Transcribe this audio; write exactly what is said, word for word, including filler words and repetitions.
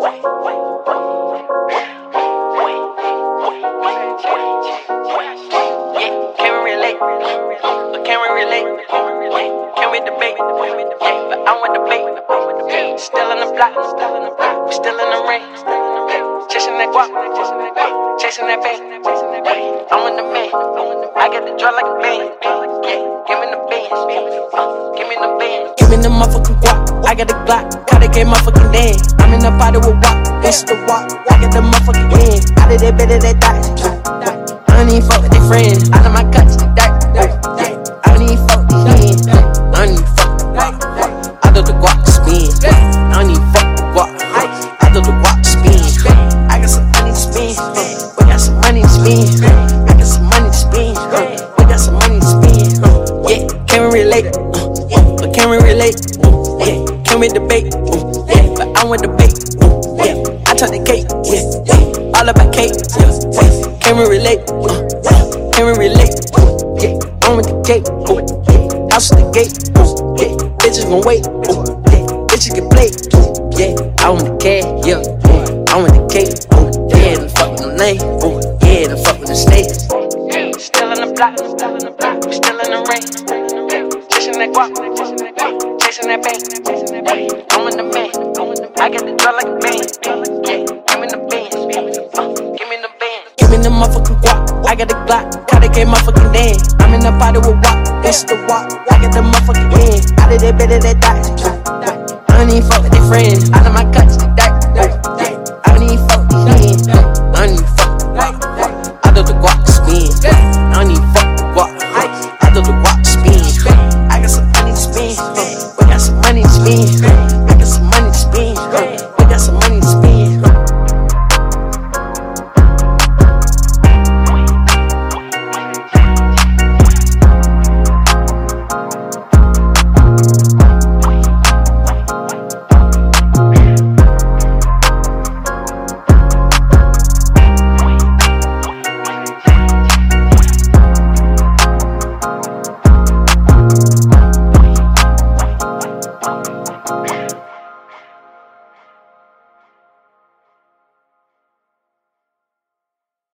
Can we relate? Can we debate? But I want debate. Still in the block, we still in the rain. Chasing that guap, chasing that bang. I'm in the man, I get the draw like a band. Give me the bands, give me the bands. Give me the motherfucking guap, I got the Glock, caught the game motherfucking damn. I'm in the party with walk, this is the walk, I get the motherfucking win. Out of that bed of that dot. I don't even fuck with their friends, out of my guts, the dirt. I don't even fuck with these hands, I don't even fuck with the guap. Out of the guap spin, I don't even fuck with the guap. Out of the guap spin, I got some money to spend, we got some money to spend. I got some money to spend, we got some money to spend. Yeah, can we relate? But can we relate? Yeah, can we debate? Yeah, but I want debate. Yeah, I talk the cake. Yeah, all about cake. Yeah, can we relate? Can we relate? Yeah, I'm with the gate. Yeah, house with the gate. Yeah, bitches gon' wait. Yeah, bitches can play. Yeah, I want the cash. Yeah, I want the cake. Yeah, the fuck with the name. Yeah, the fuck with the snakes. Still in the block, we still in the rain. Chasing that guap, chasing that bang. I'm in the man, I get the draw like a band. Yeah, give me the bands, give me the bands. Give me the motherfucking guap, I got the Glock, caught the game motherfucking damn. I'm in the party with walk, this is the walk, I get the motherfucking win. Out of that bed of that dot. I don't even fuck with their friends.